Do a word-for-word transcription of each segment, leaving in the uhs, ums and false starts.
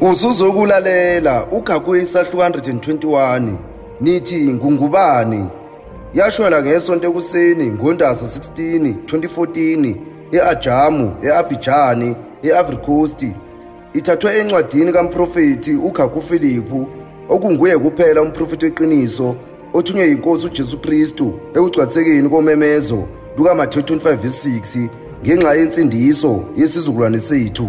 Usuzokulalela uGakwisa two twenty-one nithi ngungubani yashwela ngesonto ekuseni ngoNdasa sixteen twenty fourteen eAjamu eAbidjan eIvory Coast ithathwe encwadini kaMprofeti uGaku Philip okunguye kuphela umprofeti weqiniso othunywe inkosi uJesu Kristu ekugcwatsekeni komemezo luka Matthew twenty-five verse six ngenxa yensindiso yesizukulwane sethu.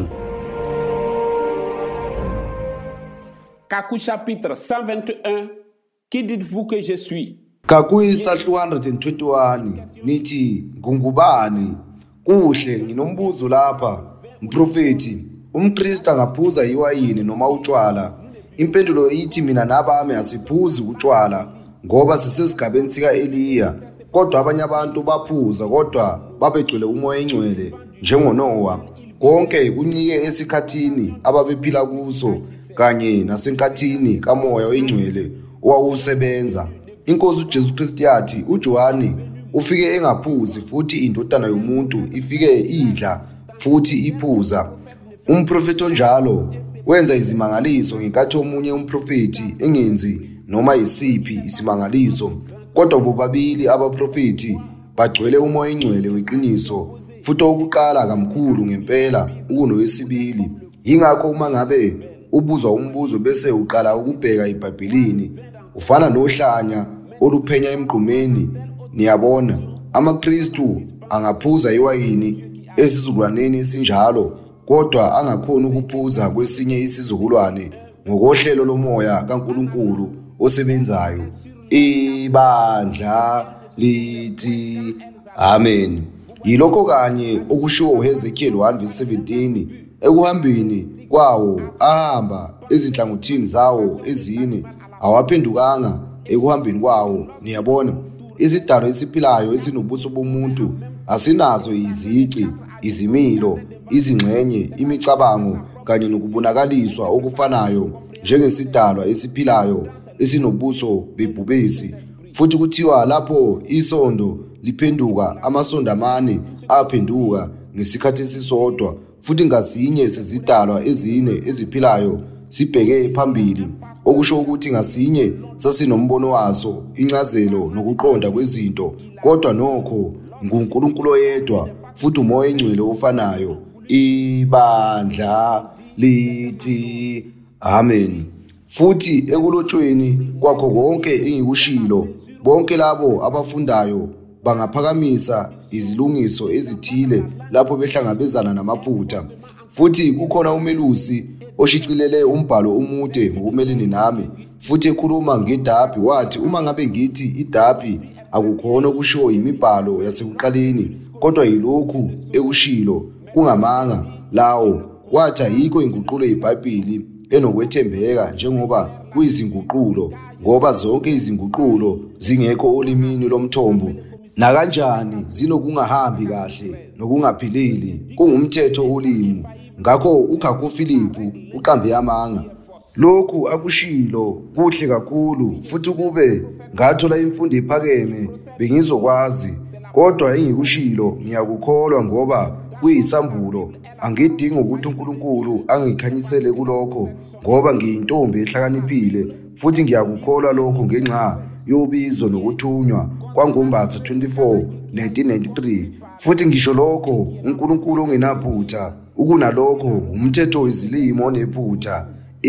Gaku chapitre cent vingt et un. Qui dites-vous que je suis? Gakwisa two twenty-one nithi ngungubani kuhle nginombuzo lapha mprofeti umKristu angaphuza iwayini noma utshwala. Impendulo ithi mina nabami asiphuzi utshwala ngoba sisesigabeni sika Eliya, kodwa abanye abantu baphuza kodwa babegcwele umoya engcwele njengoNoah. Konke kuncike esikhathini ababephila kuso kanye nasenkathini kamoya oyingcwele owawusebenza. Inkosi uJesu Kristu yathi uJohane ufike engaphuzi futhi indodana yomuntu ifike idla futhi iphuza. Umprofeti onjalo wenza izimangaliso ngenkathi omunye umprofeti engenzi noma isiphi isimangaliso, kodwa bobabili abaprofeti bagcwele umoya engcwele weqiniso futhi okuqala kamkhulu ngempela kunowesibili. Yingakho uma ngabe ubuzwa umbuzo bese uqala ukubheka iBhayibhelini ufana nohlanya oluphenya emgqumeni. Niyabona amaKristu angaphuza iwayini esizukulwaneni esinjalo kodwa angakhona ukuphuza kwesinye isizukulwane ngokohlelo lomoya kaNkuluNkulu osebenzayo. Ibandla lithi amen. Yilokho kanye okushiwo uHezekiel one verse seventeen ekuhambeni kwawo ahamba ezinhlangothini zawo ezine awaphendukanga ekuhambeni kwawo. Niyabona isidalo esiphilayo esinobuso bomuntu asinazo izici, izimilo, izingxenye, imicabango kanye nokubonakaliswa okufanayo njengesidalwa esiphilayo esinobuso bebhubesi. Futhi kuthiwa lapho isondo liphenduka amasondo amane aphenduka ngesikhathi esisodwa, futhi ngasinye sezidalwa ezine eziphilayo sibheke phambili, okusho ukuthi ngasinye sasinombono waso, incazelo nokuqonda kwezinto, kodwa nokho nguNkulunkulu oyedwa futhi umoya engcwele ofanayo. Ibandla lithi amen. Futhi ekulotshweni kwakho konke engikushilo bonke labo abafundayo bangaphakamisa izilungiso ezithile lapho behlangabezana namaphutha. Futhi kukhona umelusi oshicilele umbhalo omude ngokumelene nami futhi ekhuluma ngeDabi wathi uma ngabe ngithi iDabi akukhona okushiwo imibhalo yasekuqaleni kodwa yilokhu ekushilo kungamanga lawo, wathi ayikho inguqulo yeBhayibheli enokwethembeka njengoba kuyizinguqulo, ngoba zonke izinguqulo zingekho olimini lomthombo nakanjani zinokungahambi kahle nokungaphileli kungumthetho olimi. Ngakho uGaku Philip uqambe amanga. Lokhu akushilo kuhle kakhulu futhi kube ngathola imfundo ephakeme bengizokwazi, kodwa engikushilo ngiyakukholwa ngoba kuyisambulo. Angidingi ukuthi uNkulunkulu angikhanyisele kulokho ngoba ngiyintombi ehlakaniphile, futhi ngiyakukholwa lokho ngenxa yobizo nokuthunywa kwangoMbatha twenty-four nineteen ninety-three. Futhi ngisho lokho uNkulunkulu ongenaphutha, ukunalokho umthetho wezilimo onephutha.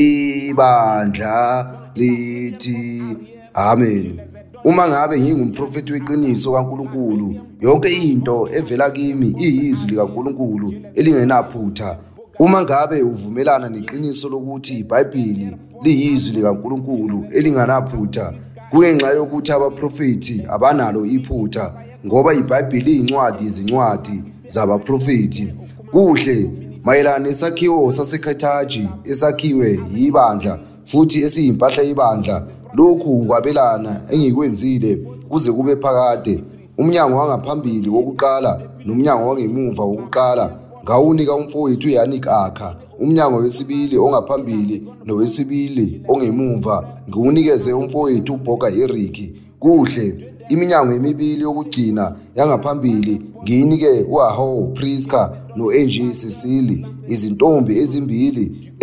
Ibandla lithi amen. Uma ngabe ngingumprofeti weqiniso kaNkulunkulu, yonke into evela kimi iyizwi likaNkulunkulu elingenaphutha. Uma ngabe uvumelana neqiniso lokuthi iBhayibheli liyizwi likaNkulunkulu elingenaphutha, kungenxa yokuthi abaprofeti abanalo iphutha ngoba iBhayibheli iyincwadi izincwadi zabaprofeti. Kuhle mayelana nesakhiwo saseKhethaji esakhiwe yibandla futhi esiyimpahla yebandla, lokhu ukwabelana engikwenzile kuze kube phakade. Umnyango wangaphambili wokuqala nomnyango wangemuva wokuqala ngawunika umfowethu uYanik Akha. Umnyango wesibili ongaphambili nowesibili ongemuva ngiwunikeze umfowethu uBhoga Eric. Kuhle iminyango emibili yokugcina yangaphambili ngiyinike uAho Priska noAngie Cecily, izintombi ezimbili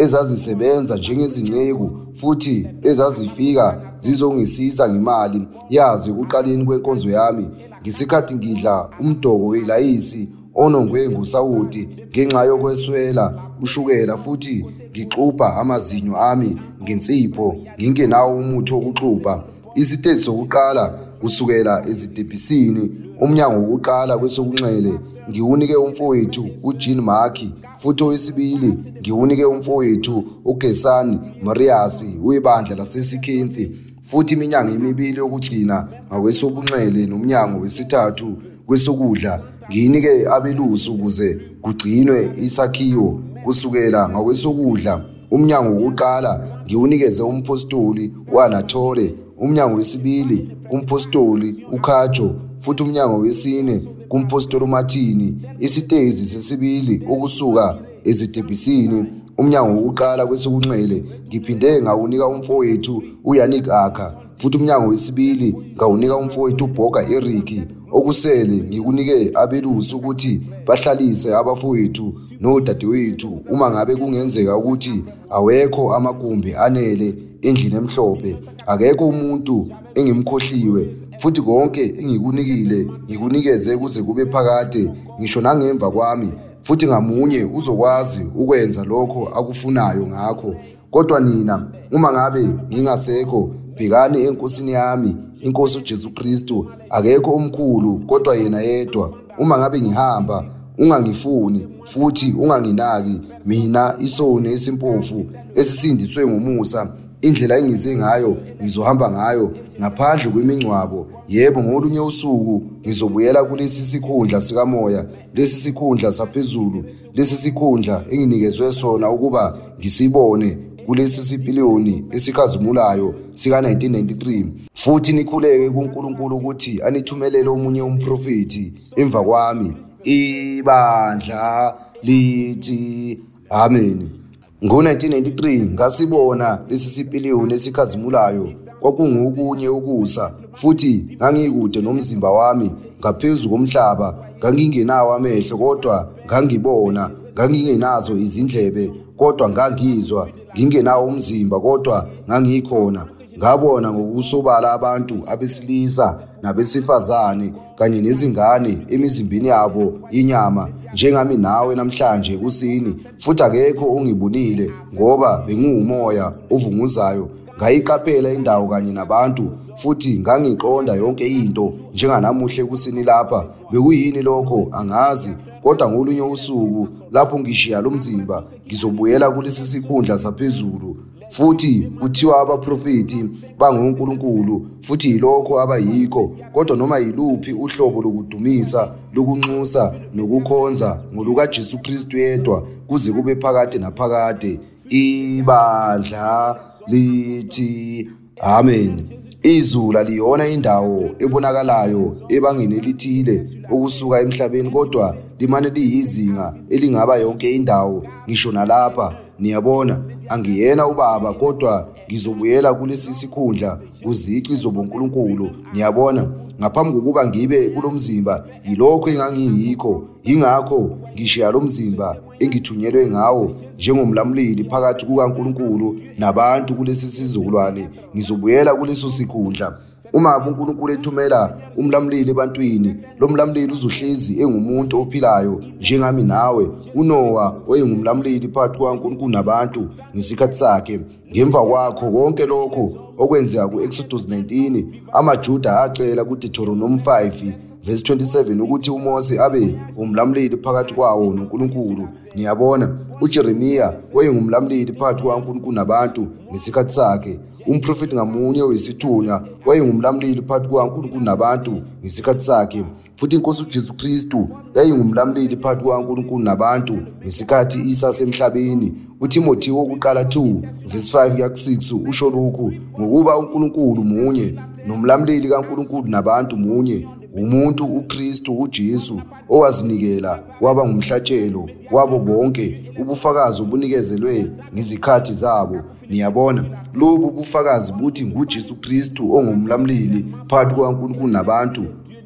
ezazisebenza njengezinceku futhi ezazifika zizongisiza ngemali yazi ekuqaleni kwenkonzo yami ngesikhathi ngidla umdoko welayisi onongwe ngusawoti ngenxa yokweswela ushukela futhi ngixubha amazinyo ami ngensipho ngingenawo umuthi wokuxubha. Izitethi zokuqala kusukela ezitebhisini umnyango wokuqala kwesokunxele ngiwunike umfowethu uJean Markey futhi owesibili ngiwunike umfowethu uGesani Marias webandla laseSikhenzi futhi iminyango emibili yokugcina ngakwesobunxele nomnyango wesithathu kwesokudla ngiyinike abelusi ukuze kugcinwe isakhiwo kusukela ngakwesokudla. Umnyango wokuqala ngiwunikeze umpostoli uAnatole, umnyango wesibili kumpostoli uKhajo futhi umnyango wesine kumpostoli uMartini. Isitezi sesibili ukusuka ezitebhisini umnyango wokuqala kwesokunxele ngiphinde ngawunika umfowethu uYanik Akha futhi umnyango wesibili ngawunika umfowethu uBoga Eric. Okusele ngikunike abelusi ukuthi bahlalise abafowethu nodadewethu uma ngabe kungenzeka ukuthi awekho amagumbi anele endlini emhlophe. Akekho umuntu engimkhohliwe futhi konke engikunikile ngikunikeze kuze kube phakade ngisho nangemva kwami futhi ngamunye uzokwazi ukwenza lokho akufunayo ngakho. Kodwa nina uma ngabe ngingasekho bhekani enkosini yami inkosi uJesu Kristu, akekho omkhulu kodwa yena yedwa. Uma ngabe ngihamba ungangifuni futhi unganginaki mina isoni esimpofu esisindiswe ngomusa. Indlela engize ngayo ngizohamba ngayo ngaphandle kwemingcwabo. Yebo, ngolunye usuku ngizobuyela kulesi sikhundla sikamoya, lesi sikhundla saphezulu, lesi sikhundla enginikezwe sona ukuba ngisibone kulesi sipiliyoni esikhazimulayo sika nineteen ninety-three. Futhi nikhuleke kuNkulunkulu ukuthi anithumelele omunye umprofeti emva kwami. Ibandla lithi amen. Ngo nineteen ninety-three ngasibona lesi sipiliyoni esikhazimulayo kwakungokunye ukusa futhi ngangikude nomzimba wami ngaphezulu komhlaba. Ngangingenawo amehlo kodwa ngangibona, ngangingenazo izindlebe kodwa ngangizwa, ngingenawo umzimba kodwa ngangikhona. Ngabona ngokusobala abantu abesilisa nabesifazane kanye nezingane emizimbeni yabo inyama njengami nawe namhlanje kusini. Futhi akekho ongibonile ngoba bengumoya ovunguzayo. Ngayiqaphela indawo kanye nabantu futhi ngangiqonda yonke into njenganamuhle kusini lapha. Bekuyini lokho angazi, kodwa ngolunye usuku lapho ngishiya lo mzimba ngizobuyela kulesi sikhundla saphezulu. Futhi kuthiwa abaprofeti bangoNkulunkulu futhi yilokho abayikho, kodwa noma yiluphi uhlobo lokudumisa, lokunxusa nokukhonza ngoluka Jesu Kristu yedwa kuze kube phakade naphakade. Ibandla lithi amen. Izulu liyona indawo ebonakalayo ebangeni elithile ukusuka emhlabeni, kodwa limane liyizinga elingaba yonke indawo ngisho nalapha. Niyabona, angiyena ubaba kodwa ngizobuyela kulesi sikhundla kuzici zobonkulunkulu. Niyabona, ngaphambi kokuba ngibe kulomzimba yilokho engangiyikho. Yingakho ngishiya lo mzimba engithunyelwe ngawo njengomlamleli phakathi kukaNkulunkulu nabantu kulesi sizukulwane. Ngizobuyela kuleso sikhundla. Uma uNkulunkulu ethumela umlamleli ebantwini, lo mlamleli uzohlezi engumuntu ophilayo njengami nawe. uNoah oyengumlamleli phakathi kukaNkulunkulu nabantu ngesikhathi sakhe. Ngemva kwakho konke lokho okwenzeka ku-Exodus nineteen, amaJuda acela kuDeuteronomy five verse twenty-seven ukuthi uMose abe umlamleli phakathi kwawo noNkulunkulu. Niyabona, uJeremiya wayengumlamleli phakathi kukaNkulunkulu nabantu ngesikhathi sakhe. Umprofeti ngamunye wesithunywa wayengumlamleli phakathi kukaNkulunkulu nabantu ngesikhathi sakhe. Futhi inkosi uJesu Kristu yayingumlamleli phakathi kukaNkulunkulu nabantu ngesikhathi isasemhlabeni. uTimothi wokuqala two verse five kuya six usho lokhu ngokuba uNkulunkulu munye nomlamleli kaNkulunkulu nabantu munye, umuntu uKristu uJesu owazinikela waba ngumhlatshelo wabo bonke ubufakazi obunikezelwe ngizikhathi zabo. Niyabona, lobu bufakazi buthi nguJesu Kristu ongumlamleli phakathi kukaNkulunkulu nabantu.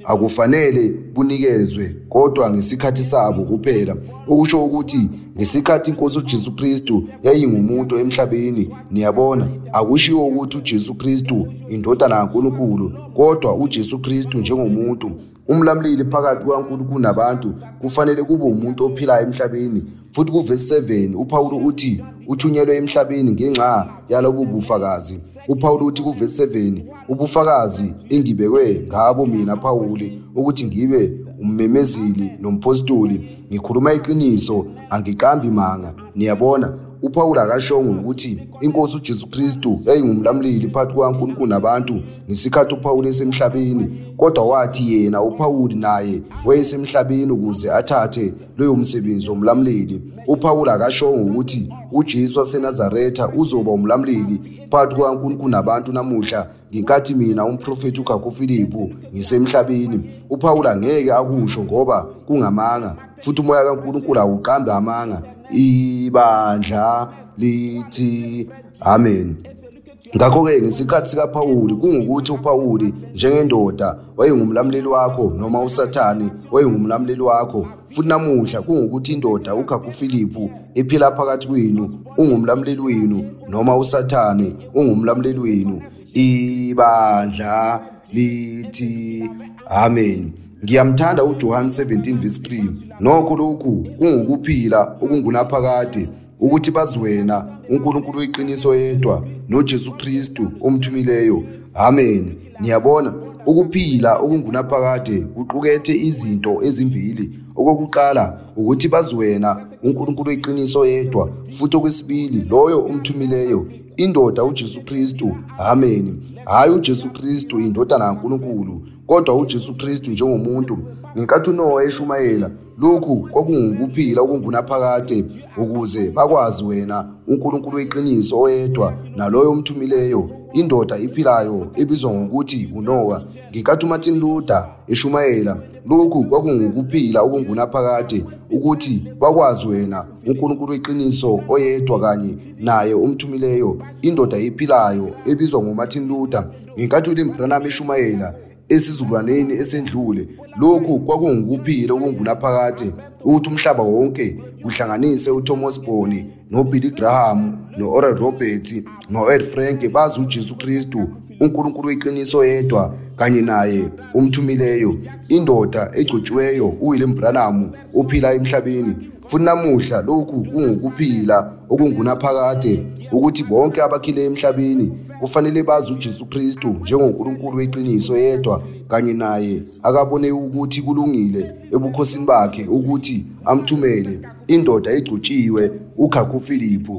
akufanele bunikezwe kodwa ngesikhathi sabo kuphela, okusho ukuthi ngesikhathi iNkosi uJesu Kristu yayingumuntu emhlabeni. Niyabona, akushiwo ukuthi uJesu Kristu indodana kaNkulunkulu, kodwa uJesu Kristu njengomuntu, umlamleli phakathi kwaNkulunkulu nabantu, kufanele kube umuntu ophilayo emhlabeni. Futhi kuverse seven uPawulu uthi uthunyelwe emhlabeni ngenxa yalobu bufakazi. uPawulu uthi kuverse seven, ubufakazi engibekwe ngabo mina Pawuli ukuthi ngibe ummemezeli nompostoli, ngikhuluma iqiniso, angiqambi manga. Niyabona, uPawulu akashongo ukuthi iNkosi uJesu Kristu yayingumlamleli phakathi kwaNkulunkulu nabantu ngesikhathi uPawulu esemhlabeni, kodwa wathi yena uPawulu naye wayesemhlabeni ukuze athathe loyo msebenzi womlamleli. uPawulu akashongo ukuthi uJesu waseNazaretha uzoba umlamleli phakathi kwaNkulunkulu nabantu namuhla ngenkathi mina umprofeti uGagu Philippu ngisemhlabeni. uPawulu angeke akusho ngoba kungamanga, futhi umoya kaNkulunkulu awuqambe amanga. Ibandla lithi amen. Ngakho-ke ngesikhathi sikaPawuli kungukuthi uPawuli njengendoda wayengumlamleli wakho, noma uSathane wayengumlamleli wakho. Futhi namuhla kungukuthi indoda uGagu Philippu ephila phakathi kwenu ungumlamleli wenu, noma uSathane ungumlamleli wenu. Ibandla lithi amen. Ngiyamthanda uJohn seventeen verse three. Nokho lokhu kungukuphila okungunaphakade, ukuthi baziwena uNkulunkulu weqiniso yedwa noJesu Kristu omthumileyo. Amen. Niyabona, ukuphila okungunaphakade kuqukethe izinto ezimbili. Okokuqala ukuthi baziwena uNkulunkulu weqiniso yedwa, futhi okwesibili loyo omthumileyo, indoda uJesu Kristu. Amen. Hayi uJesu Kristu indodana kaNkulunkulu, kodwa uJesu Kristu njengomuntu. Ngenkathi uNowa eshumayela, lokhu kwakungukuphila okungunaphakade ukuze bakwazi wena uNkulunkulu weqiniso oyedwa naloyo omthumileyo, indoda iphilayo ebizwa ngokuthi uNowa. Ngenkathi uMartin Luther eshumayela, lokhu kwakungukuphila okungunaphakade ukuthi bakwazi wena uNkulunkulu weqiniso oyedwa kanye naye omthumileyo, indoda iphilayo ebizwa ngoMartin Luther. Ngenkathi uLim Branham eshumayela esizukulwaneni esendlule, lokhu kwakungukuphila okungunaphakade ukuthi umhlaba wonke kuhlanganise uThomas Boni noBilly Graham noOral Roberts noEd Frank bazi uJesu Kristu uNkulunkulu weqiniso yedwa kanye naye umthumileyo, indoda egcotshiweyo uWilliam Branham ophila emhlabeni. Futhi namuhla lokhu kungukuphila okungunaphakade ukuthi bonke abakhile emhlabeni kufanele bazi uJesu Kristu njengoNkulunkulu weqiniso yedwa kanye naye akabone ukuthi kulungile ebukhosini bakhe ukuthi amthumele indoda egcotshiwe uGagu Philippu.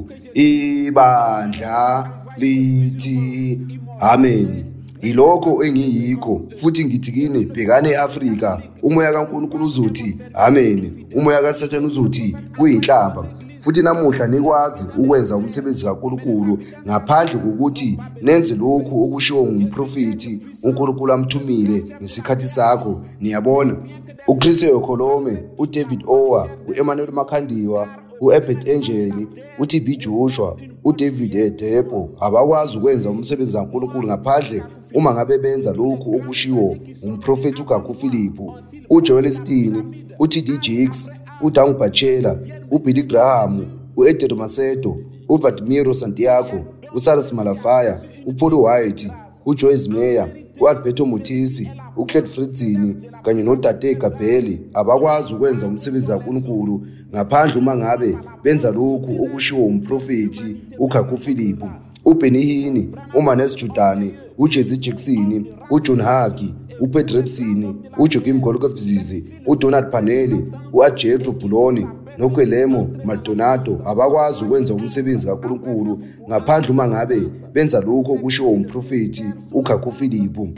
Ibandla lithi amen. Ilokho engiyikho, futhi ngithi kini, bhekane eAfrika, umoya kaNkulunkulu uzothi amen, umoya kaSathane uzothi kuyinhlamba. Futhi namuhla nikwazi ukwenza umsebenzi kaNkulunkulu ngaphandle kokuthi nenze lokhu okushiwo ngumprofeti uNkulunkulu amthumile ngesikhathi sakho. Niyabona, uChris Yokolome, uDavid Owa, uEmmanuel Makhandiwa, uEbert Angel, uT B Joshua, uDavid Edebo abakwazi ukwenza umsebenzi kaNkulunkulu ngaphandle uma ngabe benza lokhu okushiwo umprofeti uGagu Philippu, uJoel Stein, uT D Jakes, uDang Bachela, uBilly Graham, uEdred Macedo, uVladimiro Santiago, uSalas Malafaya, uPaul White, uJoyce Meyer, uAlberto Mutisi, uCled Fritzini kanye noDade Gabheli abakwazi ukwenza umsebenzi kaNkulunkulu ngaphandle uma ngabe benza lokhu okushiwo umprofeti uGagu Philippu, uBenny Hinn, uManes Jordani, uJesse Jackson, uJohn Hagi, uPedrebsini, uJoaquim Golokofzizi, uDonald Paneli, uAjethro Buloni noGuillermo Maldonado abakwazi ukwenza umsebenzi kaNkulunkulu ngaphandle uma ngabe benza lokho okushiwo umprofeti uGagu Philippu.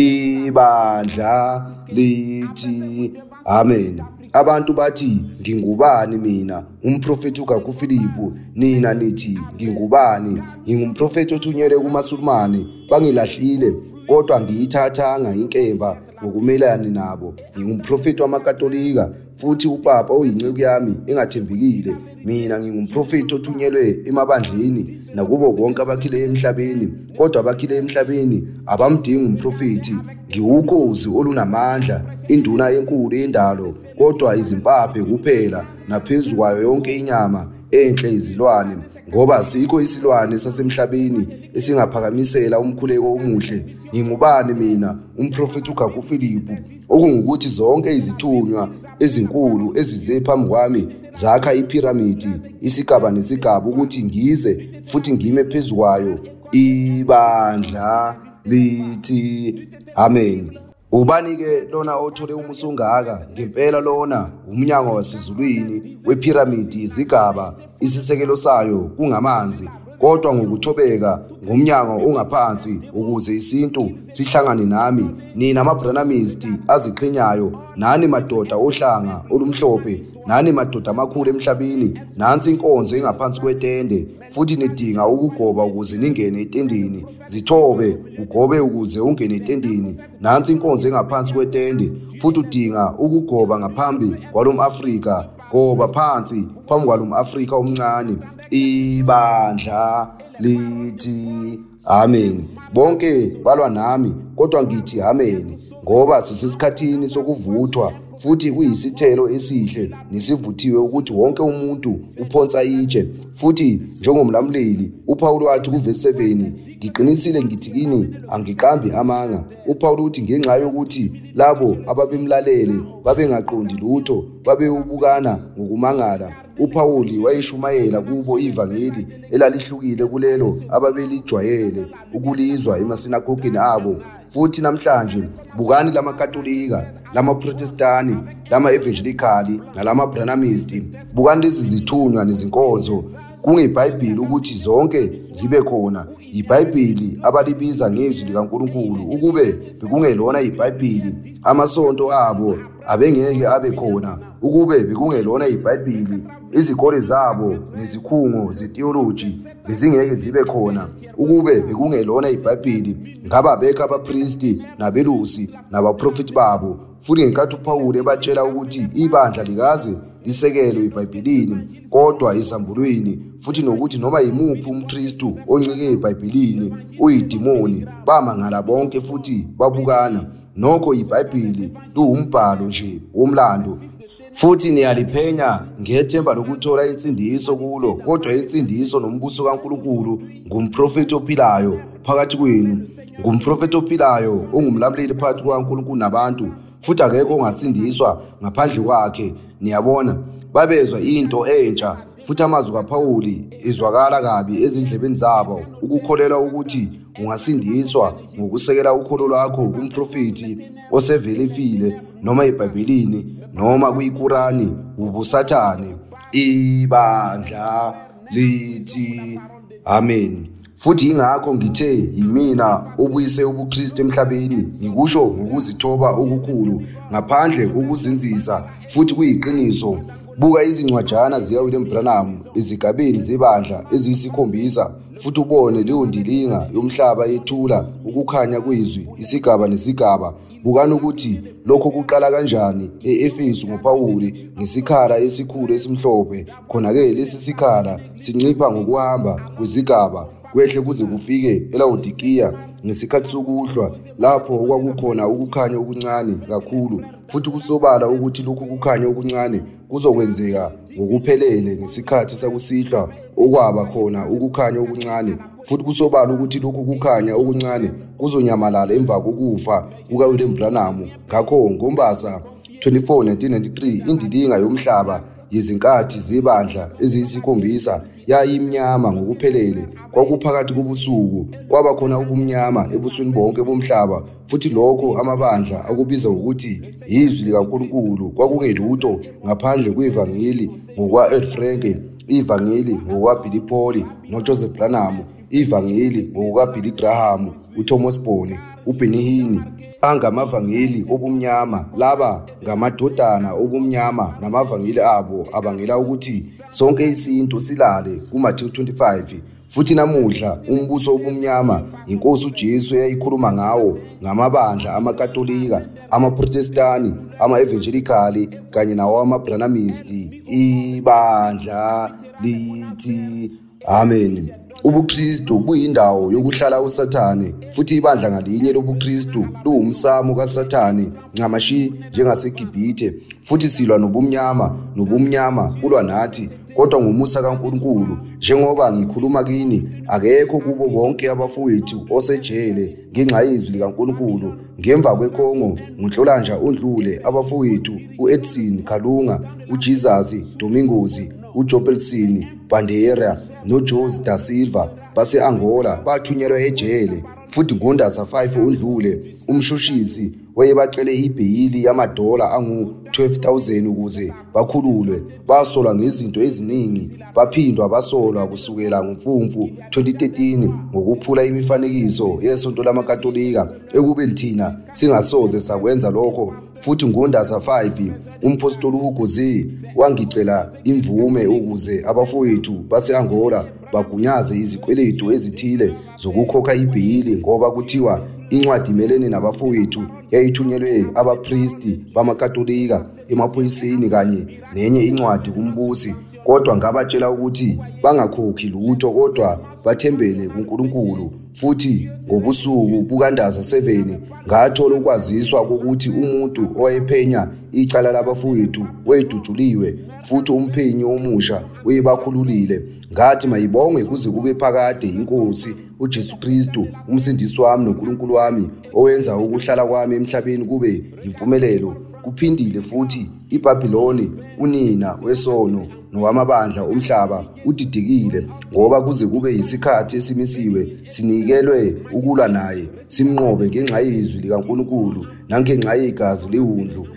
Ibandla lithi amen. Abantu bathi ngingubani mina umprofeti uGagu Philippu, nina nithi ngingubani? Ngingumprofeti othunyelwe kumaSulumane, bangilahlile kodwa ngiyithathanga inkemba ngokumelana nabo. Ngingumprofeti wamaKatolika, futhi uPapa uyinceku yami engathembekile. Mina ngingumprofeti othunyelwe emabandleni nakubo bonke abakhile emhlabeni, kodwa abakhile emhlabeni abamdingi umprofeti. ngiwukhozi olunamandla, induna enkulu yendalo, kodwa izimpaphe kuphela, naphezu kwayo yonke inyama enhle izilwane, ngoba sikho isilwane sasemhlabeni esingaphakamisela umkhuleko omuhle. Ngingubani mina, umprofeti uGagu Philip, okungukuthi zonke izithunywa ezinkulu ezize phambi kwami zakha iphiramidi, isigaba nesigaba, ukuthi ngize futhi ngime phezu kwayo. Ibandla lithi amen. Ubani-ke lona othole umusa ongaka? Ngempela lona umnyango wasezulwini wephiramidi izigaba, isisekelo sayo kungamanzi, kodwa ngokuthobeka ngomnyango ongaphansi, ukuze isintu sihlangane nami, nina ama-Branhamisti aziqhenyayo, nani madoda ohlanga olumhlophe, nani madoda amakhulu emhlabeni. Nansi inkonzo engaphansi kwetende, futhi nidinga ukugoba ukuze ningene etendeni. Zithobe ugobe ukuze ungene etendeni. Nansi inkonzo engaphansi kwetende, futhi udinga ukugoba ngaphambi kwalomAfrika. Goba phansi phambi kwalomAfrika omncane. Ibandla lithi amen. Bonke balwa nami, kodwa ngithi amen, ngoba sisesikhathini sokuvuthwa, futhi kuyisithelo esihle nesivuthiwe ukuthi wonke umuntu uphonsa itshe. Futhi njengomlamleli uPawulu wathi kuvesi seven, ngiqinisile ngithi kini angiqambi amanga. uPawulu uthi ngenxa yokuthi labo ababemlalele babengaqondi lutho, babewubukana ngokumangala, uPawuli wayeshumayela kubo ivangeli elalihlukile kulelo ababelijwayele ukulizwa emasinagogeni abo. Futhi namhlanje bukani lamaKatolika, lamaProtestani, lama-Evangelikali nalama-Branhamisti, bukani lezi zithunywa nezinkonzo kungeBhayibheli ukuthi zonke zibe khona. IBhayibheli abalibiza ngezwi likaNkulunkulu, ukube bekungelona iBhayibheli amasonto abo abengeke abe khona. Ukube bekungelona iBhayibheli izikole zabo nezikhungo zetheology bezingeke zibe khona. Ukube bekungelona iBhayibheli ngaba bekho abapristi nabelusi nabaprofeti babo. Futhi ngenkathi uPawulu ebatshela ukuthi ibandla likaze lisekelwe eBhayibhelini kodwa esambulweni, futhi nokuthi noma yimuphi umKristu oncike eBhayibhelini uyidimoni, bamangala bonke futhi babukana. Nokho iBhayibheli luwumbhalo nje womlando, futhi niyaliphenya ngethemba lokuthola insindiso kulo, kodwa insindiso nombuso kaNkulunkulu ngumprofeti ophilayo phakathi kwenu. Ngumprofeti ophilayo ongumlamleli phakathi kukaNkulunkulu nabantu, futhi akekho ongasindiswa ngaphandle kwakhe. Niyabona, babezwa into entsha, futhi amazwi kaPawuli ezwakala kabi ezindlebeni zabo, ukukholelwa ukuthi ungasindiswa ngokusekela ukholo lwakho kumprofeti osevele efile, noma eBhayibhelini noma kuyiKurani, ubusathane. Ibandla lithi amen. Futhi ingakho ngithe yimina obuyise ubuKristu emhlabeni, ngikusho ngokuzithoba okukhulu ngaphandle kokuzinzisa, futhi kuyiqiniso. Buka izincwajana zikaWilliam Branham ezigabeni zebandla eziyisikhombisa, futhi ubone leyo ndilinga yomhlaba yethula ukukhanya kwezwi isigaba nesigaba. Bukani ukuthi lokho kuqala kanjani e-Efesu ngoPawuli ngesikhala esikhulu esimhlophe. Khona-ke lesi sikhala sincipha ngokuhamba kwezigaba kwehle kuze kufike eLaodikiya ngesikhathi sokuhlwa, lapho okwakukhona ukukhanya okuncane kakhulu. Futhi kusobala ukuthi lokhu kukhanya okuncane kuzokwenzeka ngokuphelele ngesikhathi sakusihlwa okwaba khona ukukhanya okuncane. Futhi kusobala ukuthi lokhu kukhanya okuncane kuzonyamalala emva kokufa kukaWilliam Branham. Ngakho ngoMbasa twenty-four nineteen ninety-three indilinga yomhlaba yezinkathi zebandla eziyisikhombisa yayimnyama ngokuphelele. Kwakuphakathi kobusuku, kwaba khona ubumnyama ebusweni bonke bomhlaba, futhi lokho amabandla akubiza ukuthi izwi likaNkulunkulu kwakungelutho ngaphandle kwevangeli ngokwa-Ed Frank, ivangeli ngokwa-Billy Paul noJoseph Branham, ivangeli ngokwa-Billy Graham, uThomas Bone, uBenny Hinn. Angamavangeli obumnyama, laba ngamadodana obumnyama, namavangeli abo abangela ukuthi sonke isinto silale kuMathewu twenty-five. Futhi namuhla umbuso obumnyama inkosi uJesu eyayikhuluma ngawo ngamabandla amaKatolika, amaProtestani, ama-Evangelikali kanye nawo ama-Branhamisti. Ibandla lithi amen. UbuKristu buyindawo yokuhlala uSathane, futhi ibandla ngalinye lobuKristu luwumsamo kaSathane ncamashi njengaseGibhithe, futhi silwa nobumnyama, nobumnyama bulwa nathi, kodwa ngomusa kaNkulunkulu. Njengoba ngikhuluma kini, akekho kubo bonke abafowethu osejele ngenxa yezwi likaNkulunkulu. Ngemva kwekhongo nguNhlolanja undlule abafowethu uEdson Kalunga, uJesus Domingosi, uJobelson Bandera noJose da Silva base-Angola bathunyelwa ejele, futhi ngoNdasa five undlule umshushisi wayebacele ibheyili yamadola angu twelve thousand ukuze bakhululwe. Basolwa ngezinto eziningi, baphindwa basolwa kusukela ngoMfumfu twenty thirteen ngokuphula imifanekiso yesonto lamaKatolika, ekubeni thina singasoze sakwenza lokho. Futhi ngoNdasa five umpostoli uHugozi wangicela imvume ukuze abafowethu base-Angola bagunyaze izikweletu ezithile zokukhokha ibheyili, ngoba kuthiwa incwadi imelene nabafowethu yayithunyelwe abapristi bamaKatolika emaphoyiseni kanye nenye incwadi kumbusi. Kodwa ngabatshela ukuthi bangakhokhi lutho kodwa bathembele kuNkulunkulu. Futhi ngobusuku bukaNdasa seven ngathola ukwaziswa kokuthi umuntu owayephenya icala labafowethu wedujuliwe, futhi umphenyi omusha uyebakhululile. Ngathi mayibongwe kuze kube phakade iNkosi uJesu Kristu umsindisi wami noNkulunkulu wami, owenza ukuhlala kwami emhlabeni kube impumelelo. Kuphindile futhi iBhabhiloni unina wesono nowamabandla omhlaba udidekile, ngoba kuze kube yisikhathi esimisiwe sinikelwe ukulwa naye, simnqobe ngenxa yezwi likaNkulunkulu nangenxa yegazi lewundlu.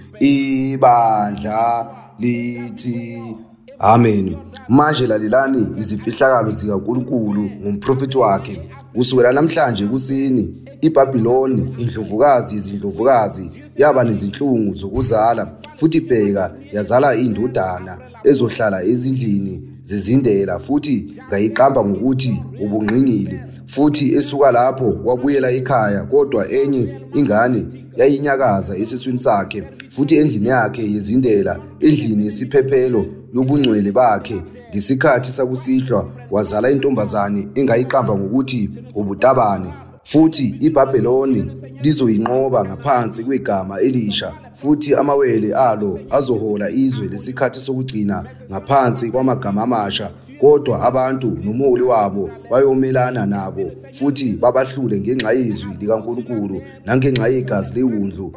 Ibandla lithi amen. Manje lalelani izifihlakalo zikaNkulunkulu ngomprofeti wakhe. Kusukela namhlanje kusini iBhabhiloni, indlovukazi izindlovukazi, yaba nezinhlungu zokuzala, futhi bheka yazala indodana ezohlala ezindlini zezindela, futhi ngayiqamba ngokuthi ubungqingili. Futhi esuka lapho wabuyela ekhaya, kodwa enye ingane yayinyakaza esiswini sakhe, futhi endlini yakhe yezindela, endlini yesiphephelo yobungcwele bakhe, ngesikhathi sakusihlwa wazala intombazane engayiqamba ngokuthi ubutabane. Futhi iBhabhiloni lizoyinqoba ngaphansi kwegama elisha, futhi amawele alo azohola izwe lesikhathi sokugcina ngaphansi kwamagama amasha. Kodwa abantu nomholi wabo bayomelana nabo, futhi babahlule ngenxa yezwi likaNkulunkulu nangenxa yegazi lewundlu.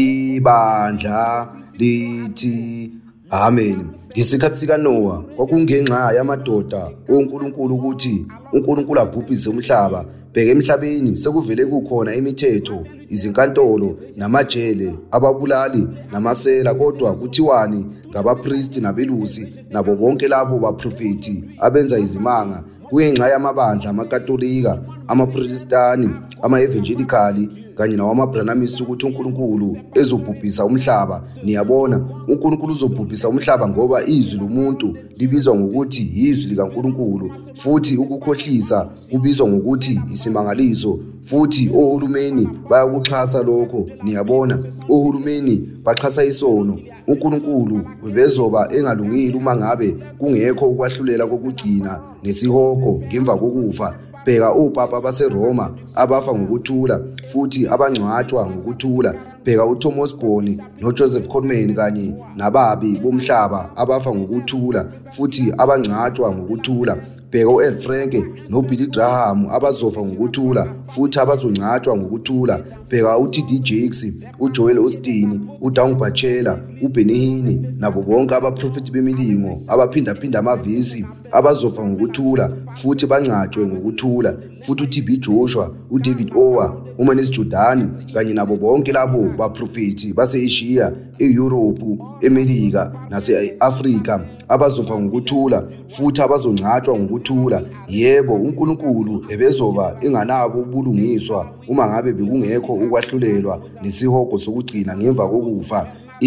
Ibandla lithi amen. Ngesikhathi sikaNoah kwakungenxa yamadoda oNkulunkulu ukuthi uNkulunkulu abhubhise umhlaba. Bheka, emhlabeni sekuvele kukhona imithetho, izinkantolo namajele, ababulali namasela, kodwa kuthiwani ngabapristi nabelusi nabo bonke labo baprofeti abenza izimanga, kungenxa yamabandla amaKatolika, amaProtestani, ama-evangelikali kanye nawamaBranamist, ukuthi uNkulunkulu ezobhubhisa umhlaba. Niyabona, uNkulunkulu uzobhubhisa umhlaba ngoba izwi lomuntu libizwa ngokuthi izwi likaNkulunkulu, futhi ukukhohlisa kubizwa ngokuthi isimangaliso. Futhi ohulumeni bayakuxhasa lokho. Niyabona, ohulumeni baxhasa isono. uNkulunkulu webezoba engalungile uma ngabe kungekho ukwahlulela kokugcina nesihogo ngemva kokufa. Bheka opapa baseRoma abafa ngokuthula, futhi abangcwatshwa ngokuthula. Bheka uThomas Boni noJoseph Coleman kanye nababi bomhlaba abafa ngokuthula, futhi abangcwatshwa ngokuthula. Bheka uEl Franke noBilly Graham abazofa ngokuthula, futhi abazongcwatshwa ngokuthula. Bheka uT D Jakes, uJoel Osteen, uDown Bachela, uBenny Hinn nabo bonke abaprofeti bemilingo abaphindaphinda amavesi abazofa ngokuthula, futhi bangcwatshwe ngokuthula. Futhi uT B Joshua, uDavid Ower, uManis Jordan kanye nabo bonke labo baprofeti base-Asia, eEurope, eMelika nase-Afrika abazofa ngokuthula, futhi abazongcwatshwa ngokuthula. Yebo, uNkulunkulu ebezoba enganabo ubulungiswa uma ngabe bekungekho ukwahlulelwa nesihogo sokugcina ngemva kokufa.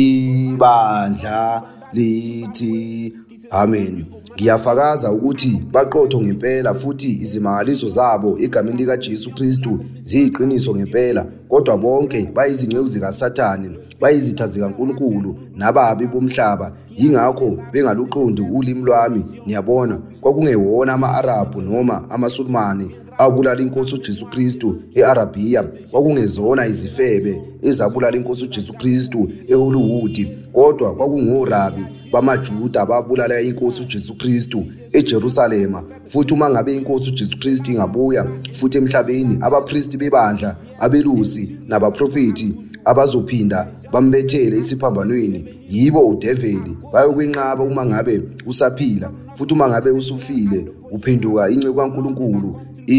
Ibandla lithi amen. Ngiyafakaza ukuthi baqotho ngempela, futhi izimangaliso zabo egameni likaJesu Kristu ziyiqiniso ngempela, kodwa bonke bayizinceku zikaSathane. bayizitha zikaNkulunkulu nababi bomhlaba, yingakho bengaluqondi ulimi lwami. Niyabona, kwakungewona ama-Arabhu noma amaSulumane abulala inkosi uJesu Kristu e-Arabiya, kwakungezona izifebe ezabulala inkosi uJesu Kristu eHollywood, kodwa kwakungorabi bamaJuda ababulala inkosi uJesu Kristu eJerusalema. Futhi uma ngabe inkosi uJesu Kristu ingabuya futhi emhlabeni, abapristi bebandla, abelusi nabaprofeti abazophinda bambethele isiphambanweni, yibo udeveli bayokwenqaba uma ngabe usaphila. Futhi uma ngabe usufile uphenduka inceku kaNkulunkulu.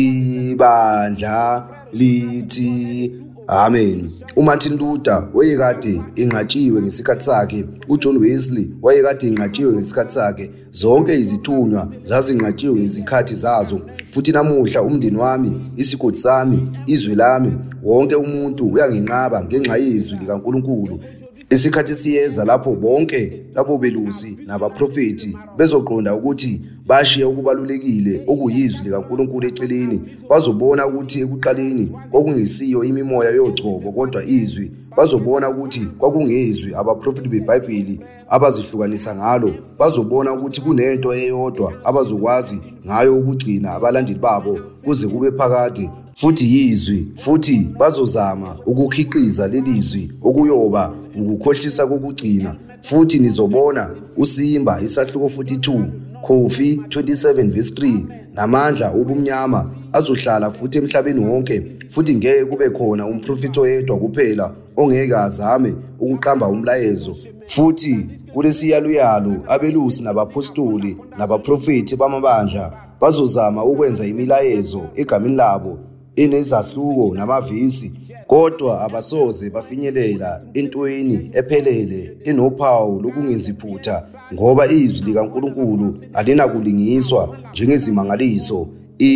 Ibandla lithi amen. uMartin Luther wayekade enqatshiwe ngesikhathi sakhe, uJohn Wesley wayekade enqatshiwe ngesikhathi sakhe, zonke izithunywa zazinqatshiwe ngezikhathi zazo. Futhi namuhla umndeni wami, isigodi sami, izwe lami, wonke umuntu uyanginqaba ngenxa yezwi likaNkulunkulu. Isikhathi siyeza lapho bonke labo belusi nabaprofeti bezoqonda ukuthi bashiya okubalulekile okuyizwi likaNkulunkulu eceleni. Bazobona ukuthi ekuqaleni kwakungesiyo imimoya yochoko kodwa izwi. Bazobona ukuthi kwakungezwi abaprofeti beBhayibheli abazihlukanisa ngalo. Bazobona ukuthi kunento eyodwa abazokwazi ngayo ukugcina abalandeli babo kuze kube phakade, futhi yizwi. Futhi bazozama ukukhiqiza lelizwi okuyoba ukukhohlisa kokugcina. Futhi nizobona uSimba isahluko forty-two, Kofi twenty-seven verse three, namandla obumnyama azohlala futhi emhlabeni wonke. Futhi ngeke kube khona umprofeti oyedwa kuphela ongeke azame ukuqamba umlayezo. Futhi kulesiyaluyalu abelusi nabapostoli nabaprofeti bamabandla bazozama ukwenza imilayezo egameni labo enezahluko namavisi, kodwa abasoze bafinyelela entweni ephelele enophawu lokungeziphutha, ngoba izwi likaNkulunkulu alinakulingiswa njengezimangaliso.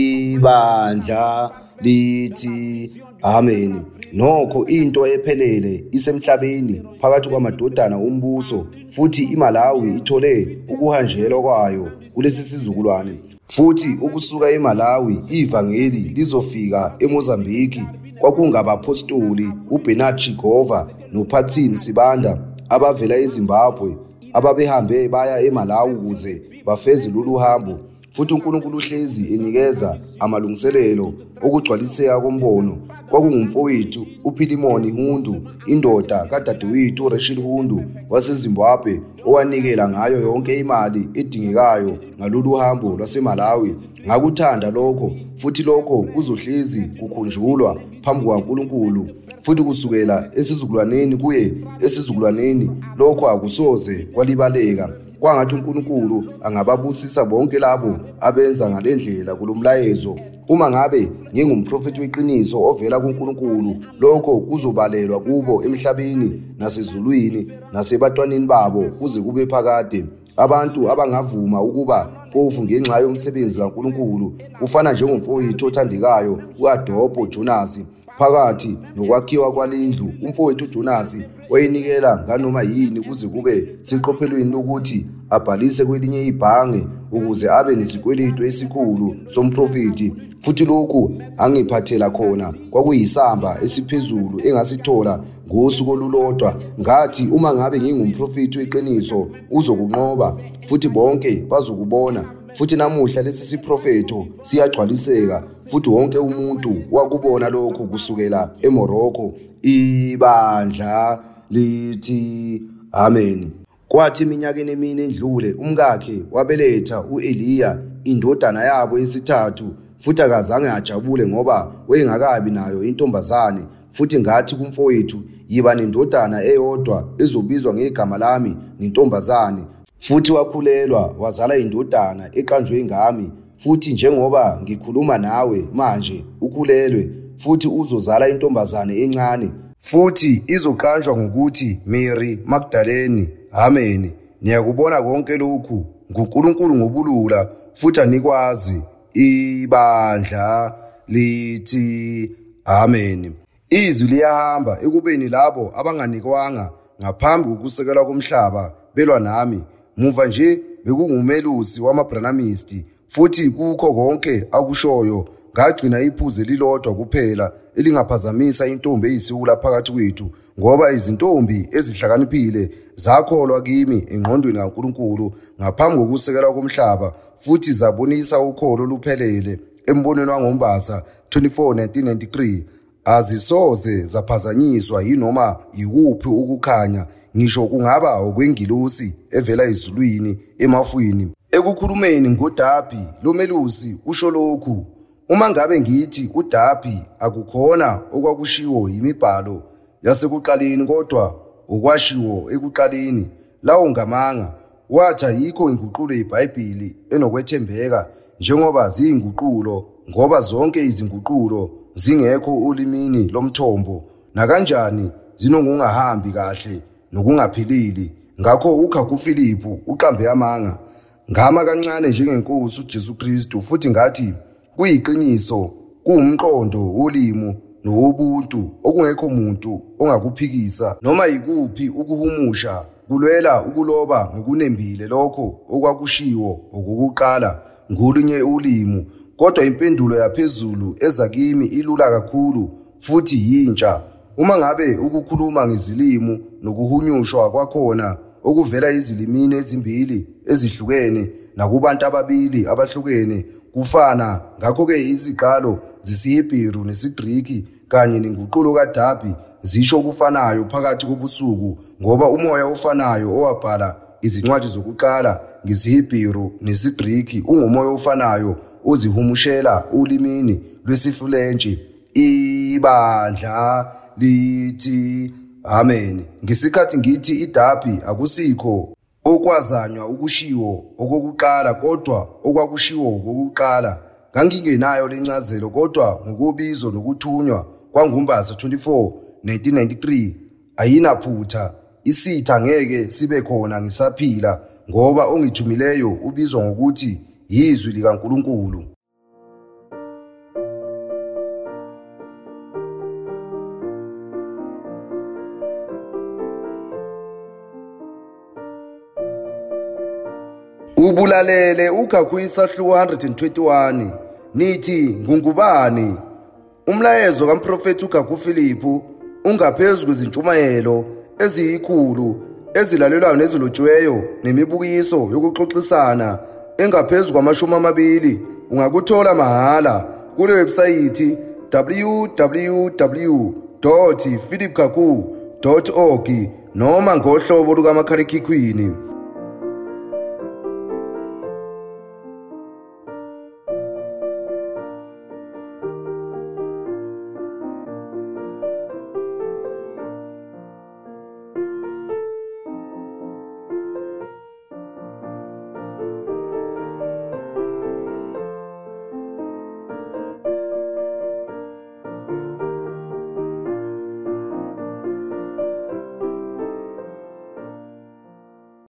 Ibandla lithi amen. Nokho into ephelele isemhlabeni phakathi kwamadodana ombuso, futhi iMalawi ithole ukuhanjelwa kwayo kulesi sizukulwane. Futhi ukusuka eMalawi ivangeli lizofika eMozambiki. Kwakungabapostoli uBernard Chigova noPatsin Sibanda abavela eZimbabwe ababehambe baya eMalawi ukuze bafeze lolu hambo. Futhi uNkulunkulu uhlezi enikeza amalungiselelo okugcwaliseka kombono. Kwakungumfowethu uPhilimoni Hundu, indoda kadadewethu uRachel Hundu waseZimbabwe, owanikela ngayo yonke imali edingekayo ngalolu hambo lwaseMalawi. Ngakuthanda lokho, futhi lokho kuzohlezi kukhunjulwa phambi kwaNkulunkulu. Futhi kusukela esizukulwaneni kuye esizukulwaneni lokho akusoze kwalibaleka. Kwangathi uNkulunkulu angababusisa bonke labo abenza ngalendlela kulomlayezo. Uma ngabe ngingumprofeti weqiniso ovela kuNkulunkulu, lokho kuzobalelwa kubo emhlabeni nasezulwini nasebantwaneni babo kuze kube phakade. Abantu abangavuma ukuba phofu ngenxa yomsebenzi kaNkulunkulu kufana njengomfowethu othandekayo uAdobo Jonas. Phakathi nokwakhiwa kwalendlu, umfowethu uJonas wayenikela nganoma yini kuze kube siqophelweni lokuthi abhalise kwelinye ibhange ukuze abe nesikweletu esikhulu somprofeti. Futhi lokhu angiphathela khona kwakuyisamba esiphezulu engasithola ngosuku olulodwa. Ngathi uma ngabe ngingumprofeti weqiniso uzokunqoba, futhi bonke bazokubona. Futhi namuhla lesi siprofeto siyagcwaliseka, futhi wonke umuntu wakubona lokho kusukela eMorocco. Ibandla lithi amen. Kwathi iminyakeni emine endlule umkakhe wabeletha uEliya indodana yabo yesithathu, futhi akazange ajabule ngoba wayengakabi nayo intombazane. Futhi ngathi kumfowethu, yiba nendodana eyodwa ezobizwa ngegama lami nentombazane. Futhi wakhulelwa wazala indodana eqanjwe ngami. Futhi njengoba ngikhuluma nawe manje ukhulelwe, futhi uzozala intombazane encane, futhi izoqanjwa ngokuthi Mary Magdalene. Amen. Niyakubona konke lokhu nguNkulunkulu ngobulula, futhi anikwazi. Ibandla lithi amen. Izwi liyahamba ekubeni labo abanganikwanga ngaphambi kokusekelwa komhlaba belwa nami. Muva nje bekungumelusi wamaBranamisti, futhi kukho konke akushoyo ngagcina iphuze lilodwa kuphela elingaphazamisa intombi eyisiwula phakathi kwethu. ngoba izintombi ezihlakaniphile zakholwa kimi engqondweni kaNkulunkulu ngaphambi kokusekelwa komhlaba futhi zabonisa ukholo luphelele embonweni wangoMbasa twenty-four nineteen ninety-three. Azisoze zaphazanyiswa yinoma yikuphi ukukhanya ngisho kungaba okwengilosi evela ezulwini emafwini. Ekukhulumeni ngoDabi lo melusi usho lokhu: uma ngabe ngithi uDabi akukhona okwakushiwo yimibhalo yasekuqaleni kodwa okwashiwo ekuqaleni, lawo ngamanga, wathi ayikho inguqulo yeBhayibheli enokwethembeka njengoba ziyinguqulo, ngoba zonke izinguqulo zingekho olimini lomthombo, nakanjani zinokungahambi kahle nokungaphilili. Ngakho uKhakhu Philippu uqambe amanga ngama kancane njengeNkosi uJesu Kristu, futhi ngathi kuyiqiniso, kuwumqondo wolimo nowobuntu okungekho muntu ongakuphikisa noma yikuphi ukuhumusha kulwela ukuloba ngokunembile lokho okwakushiwo okokuqala ngolunye ulimi. Kodwa impendulo yaphezulu eza kimi ilula kakhulu futhi yintsha. Uma ngabe ukukhuluma ngezilimi nokuhunyushwa kwakhona okuvela izilimini ezimbili ezihlukene nakubantu ababili abahlukene kufana, ngakho-ke iziqalo zesiHebheru nesiGriki kanye nenguqulo kaDabi zisho kufanayo phakathi kobusuku, ngoba umoya ofanayo owabhala izincwadi zokuqala ngesiHebheru nesiGriki ungumoya ofanayo ozihumushela ulimini lwesiFulentshi. Ibandla lithi amen. Ngesikhathi ngithi iDabi akusikho okwazanywa ukushiwo okokuqala kodwa okwakushiwo okokuqala, ngangingenayo lencazelo, kodwa ngokubizo nokuthunywa kwanguMbasa twenty-four nineteen ninety-three ayinaphutha. Isitha ngeke sibe khona ngisaphila, ngoba ongithumileyo ubizwa ngokuthi yizwi likaNkulunkulu. Ubulalele uKhakhu isahluko one twenty-one nithi ngungubani. Umlayezo kaMprofethi uKhakhu Philippu ungaphezulu kwezintshumayelo eziyikhulu ezilalelwayo nezilotshiweyo nemibukiso yokuxoxisana engaphezulu kwamashumi amabili. Ungakuthola mahala kule website w w w dot philip khakhu dot org noma ngohlobo lukamakhalekhukhwini.